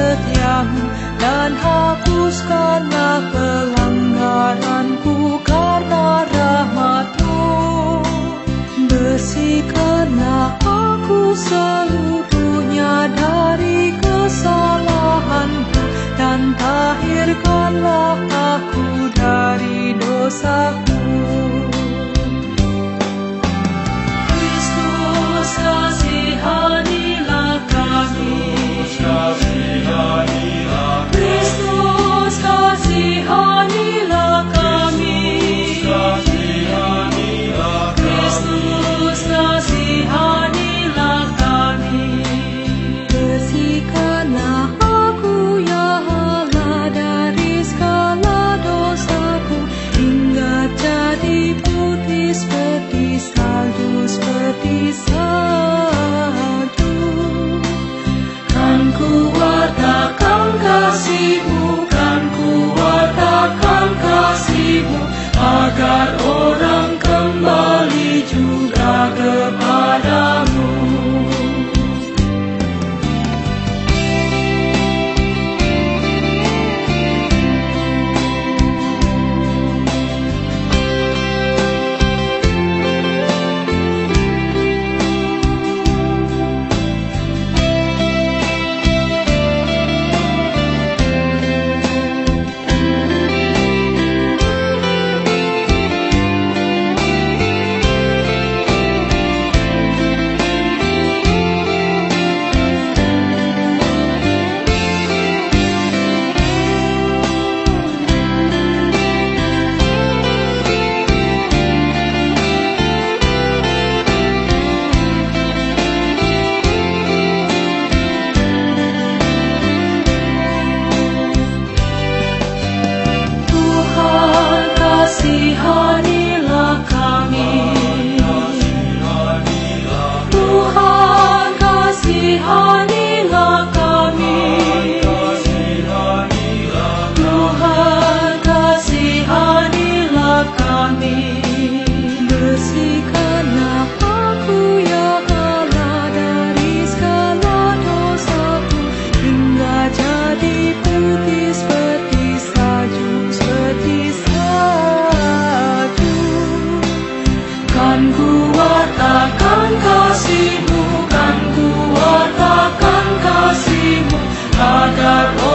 setiamu, dan hapuskanlah pelanggaranku karena rahmat-Mu. Bersihkanlah aku seluruhnya dari kesalahanku, dan tahirkanlah aku dari dosaku. Kristus, kasihanilah kami. Kristus, kasihanilah kami. Kristus, kasihanilah kami. Bersihkanlah aku, ya Allah, dari segala dosaku, hingga jadi putih seperti salju, seperti salju. Kan kuwartakan kasih-Mu, kan kuwartakan kasih-Mu, agar orang kembali juga kepadamu. Kasihanilah kami. Tuhan, kasihanilah kami. Tuhan, kasihanilah kami. Bersihkanlah aku, ya Allah, dari segala dosaku, hingga jadi putih seperti salju, seperti salju. Kan kuwartakan kasih-Mu, kan kuwartakan kasih-Mu, agar